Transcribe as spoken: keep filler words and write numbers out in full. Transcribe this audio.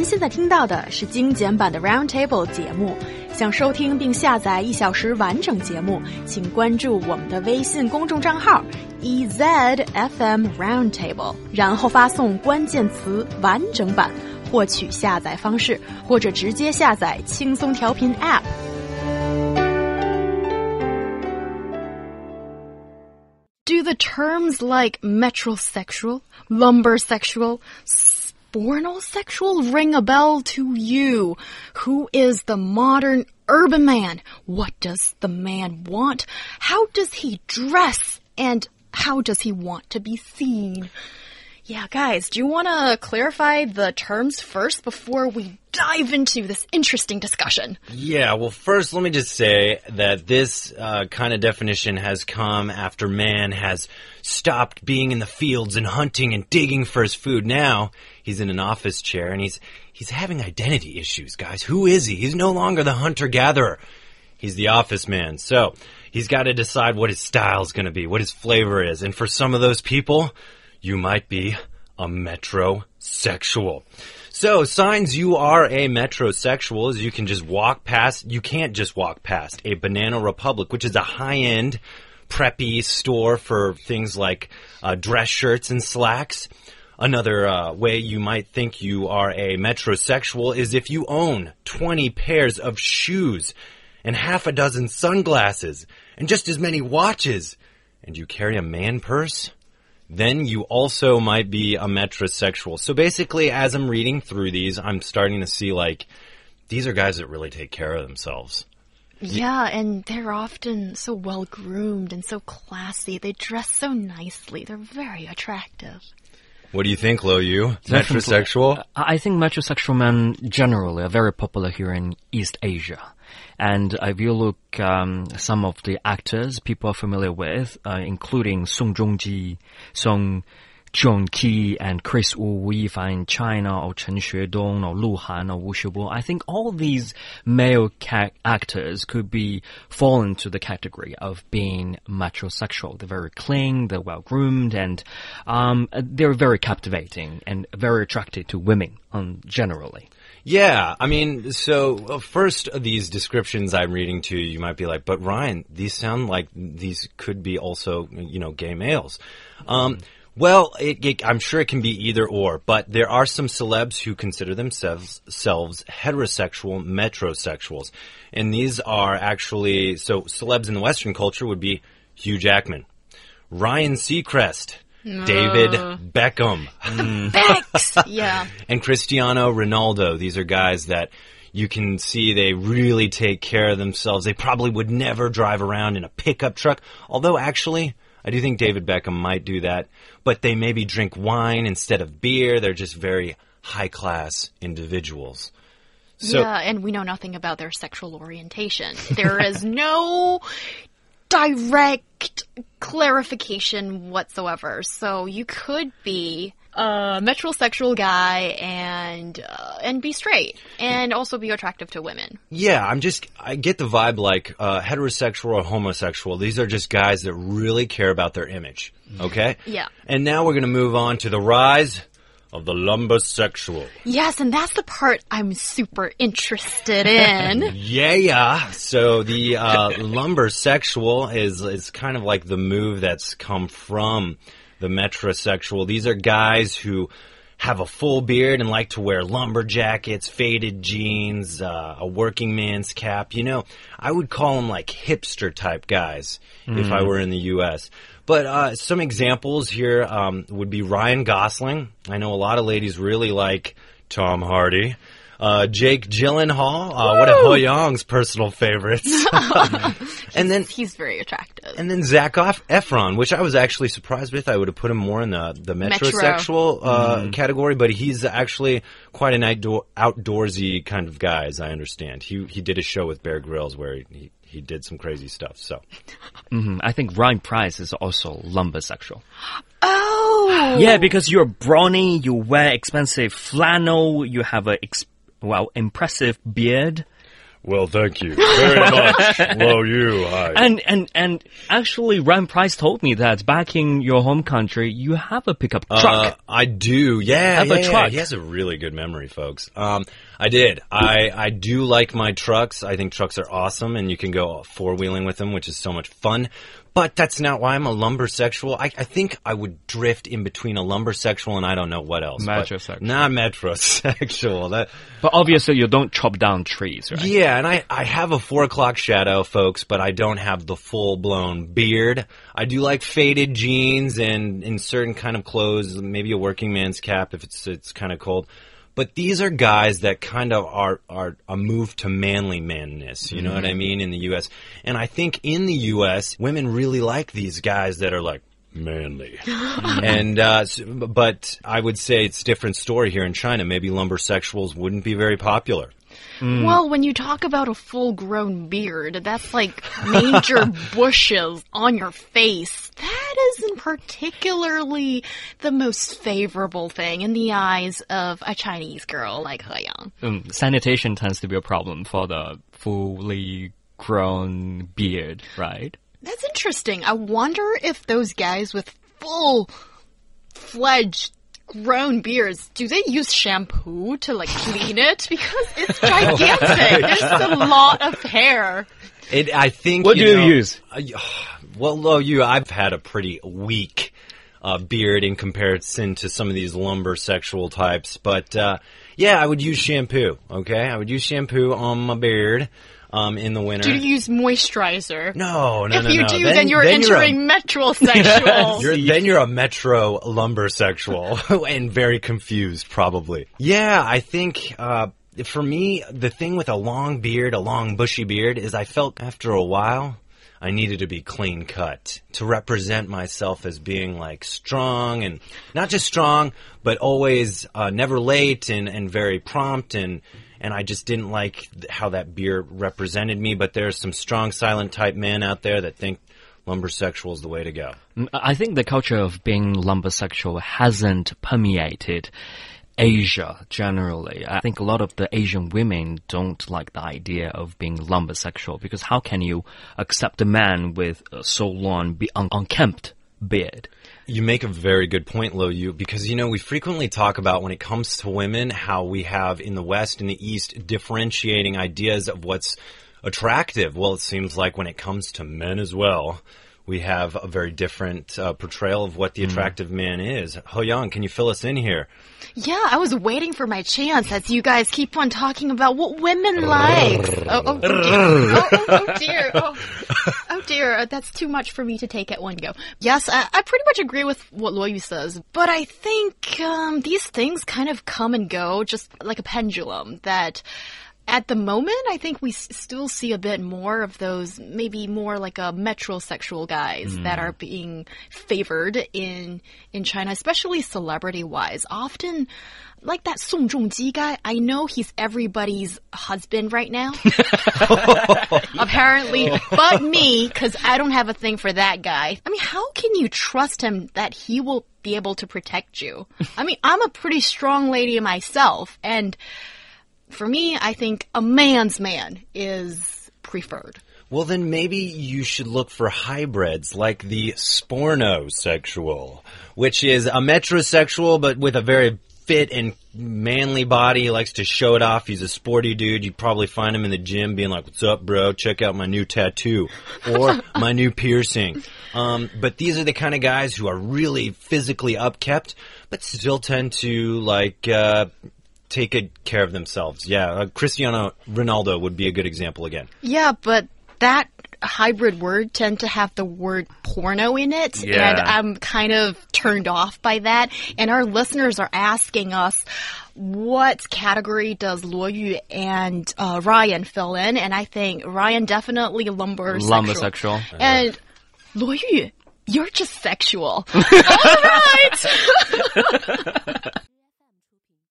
现在听到的是精简版的 Roundtable 节目。想收听并下载一小时完整节目，请关注我们的微信公众账号 E Z F M Roundtable， 然后发送关键词完整版获取下载方式，或者直接下载轻松调频 App。Do the terms like metrosexual, lumbersexual, spornosexual ring a bell to you? Who is the modern urban man? What does the man want? How does he dress? And how does he want to be seen? Yeah, guys, do you want to clarify the terms first before we dive into this interesting discussion? Yeah, well, first, let me just say that this uh, kind of definition has come after man has stopped being in the fields and hunting and digging for his food. Now, he's in an office chair, and he's he's having identity issues, guys. Who is he? He's no longer the hunter-gatherer. He's the office man. So, he's got to decide what his style is going to be, what his flavor is. And for some of those people, you might be a metrosexual. So, signs you are a metrosexual is you can just walk past, you can't just walk past a Banana Republic, which is a high-end, preppy store for things like uh, dress shirts and slacks. Another uh, way you might think you are a metrosexual is if you own twenty pairs of shoes and half a dozen sunglasses and just as many watches, and you carry a man purse. Then you also might be a metrosexual. So basically, as I'm reading through these, I'm starting to see, like, these are guys that really take care of themselves. Yeah, and they're often so well-groomed and so classy. They dress so nicely. They're very attractive. What do you think, Lo Yu? Metrosexual? I think metrosexual men generally are very popular here in East Asia. And if you look um, some of the actors people are familiar with, uh, including Song Joong-ki, Song Joong-ki, and Chris Wu, if in China, or Chen Xuedong, or Lu Han, or Wu Xiubo, I think all these male ca- actors could be fall into the category of being metrosexual. They're very clean, they're well-groomed, and um, they're very captivating and very attractive to women um, generally. Yeah, I mean, so uh, first of these descriptions I'm reading to you, you might be like, but Ryan, these sound like these could be also, you know, gay males. Um, well, it, it, I'm sure it can be either or, but there are some celebs who consider themselves selves heterosexual metrosexuals. And these are actually, so celebs in the Western culture would be Hugh Jackman, Ryan Seacrest, David Beckham. Mm. Becks! Yeah. And Cristiano Ronaldo. These are guys that you can see they really take care of themselves. They probably would never drive around in a pickup truck. Although, actually, I do think David Beckham might do that. But they maybe drink wine instead of beer. They're just very high-class individuals. So, yeah, and we know nothing about their sexual orientation. There is no direct clarification whatsoever. So you could be a metrosexual guy and uh, and be straight and also be attractive to women. Yeah, I'm just, I get the vibe like uh, heterosexual or homosexual. These are just guys that really care about their image. Okay? Yeah. And now we're going to move on to the rise of the lumbersexual. Yes, and that's the part I'm super interested in. yeah, yeah. So the uh, lumbersexual is is kind of like the move that's come from the metrosexual. These are guys who have a full beard and like to wear lumber jackets, faded jeans, uh, a working man's cap. You know, I would call them like hipster type guys mm. if I were in the U S But uh, some examples here um, would be Ryan Gosling. I know a lot of ladies really like Tom Hardy. Uh, Jake Gyllenhaal, uh, one of Ho Young's personal favorites. and then he's very attractive. And then Zac Efron, which I was actually surprised with. I would have put him more in the, the metrosexual Metro. uh, mm. category, but he's actually quite an outdoor, outdoorsy kind of guy, as I understand. He he did a show with Bear Grylls where he, he he did some crazy stuff. So, mm-hmm. I think Ryan Price is also lumbersexual. Oh, yeah, because you're brawny, you wear expensive flannel, you have a ex- well impressive beard. Well, thank you very much, Lo Yu. Hi. And and and actually, Ryan Price told me that back in your home country, you have a pickup truck. Uh, I do. Yeah, Have yeah, a yeah. truck. He has a really good memory, folks. Um, I did. I I do like my trucks. I think trucks are awesome, and you can go four wheeling with them, which is so much fun. But that's not why I'm a lumbersexual. I, I think I would drift in between a lumbersexual and I don't know what else. but Metrosexual. Not metrosexual. That. But obviously, you don't chop down trees, right? Yeah, and I, I have a four o'clock shadow, folks, but I don't have the full-blown beard. I do like faded jeans and in certain kind of clothes, maybe a working man's cap if it's it's kind of cold. But these are guys that kind of are, are a move to manly manness, you know mm. what I mean, in the U S. And I think in the U S, women really like these guys that are like, manly. and uh, But I would say it's a different story here in China. Maybe lumbersexuals wouldn't be very popular. Mm. Well, when you talk about a full-grown beard, that's like major bushes on your face. That isn't particularly the most favorable thing in the eyes of a Chinese girl like He Yang. Um, sanitation tends to be a problem for the fully grown beard, right? That's interesting. I wonder if those guys with full-fledged grown beards, do they use shampoo to like clean it? Because it's gigantic. There's a lot of hair. It, I think. What you do know, you use? Uh, well, Lo Yu, I've had a pretty weak uh, beard in comparison to some of these lumbersexual types, but uh, yeah, I would use shampoo. Okay, I would use shampoo on my beard. Um, in the winter. Do you use moisturizer? No, no, if no, you no. do, then, then you're then entering you're a, metrosexual. you're, then you're a metro lumbersexual and very confused, probably. Yeah, I think uh, for me, the thing with a long beard, a long bushy beard, is I felt after a while I needed to be clean cut to represent myself as being like strong and not just strong, but always uh, never late and, and very prompt and. And I just didn't like how that beard represented me. But there's some strong, silent type men out there that think lumbersexual is the way to go. I think the culture of being lumbersexual hasn't permeated Asia generally. I think a lot of the Asian women don't like the idea of being lumbersexual because how can you accept a man with a so long, un unkempt beard? You make a very good point, Lo Yu, because, you know, we frequently talk about when it comes to women, how we have in the West and the East differentiating ideas of what's attractive. Well, it seems like when it comes to men as well, we have a very different uh, portrayal of what the attractive mm. man is. He Yang, can you fill us in here? Yeah, I was waiting for my chance as you guys keep on talking about what women like. oh, oh, oh, dear. Oh, oh, oh, dear. Oh, oh, dear. That's too much for me to take at one go. Yes, I, I pretty much agree with what Lo Yu says, but I think um, these things kind of come and go just like a pendulum that... At the moment, I think we s still see a bit more of those maybe more like a metrosexual guys mm. that are being favored in in China, especially celebrity-wise. Often, like that Song Joong-ki guy, I know he's everybody's husband right now. Apparently, but me, because I don't have a thing for that guy. I mean, how can you trust him that he will be able to protect you? I mean, I'm a pretty strong lady myself, and... For me, I think a man's man is preferred. Well, then maybe you should look for hybrids like the spornosexual, which is a metrosexual but with a very fit and manly body. He likes to show it off. He's a sporty dude. You'd probably find him in the gym being like, what's up, bro? Check out my new tattoo or my new piercing. Um, but these are the kind of guys who are really physically upkept but still tend to, like... Uh, take good care of themselves. Yeah, uh, Cristiano Ronaldo would be a good example again. Yeah, but that hybrid word tend to have the word porno in it, yeah. and I'm kind of turned off by that. And our listeners are asking us, what category does Lo Yu and uh, Ryan fill in? And I think Ryan definitely lumbersexual. Lumbersexual. And Lo Yu, you're just sexual. All right!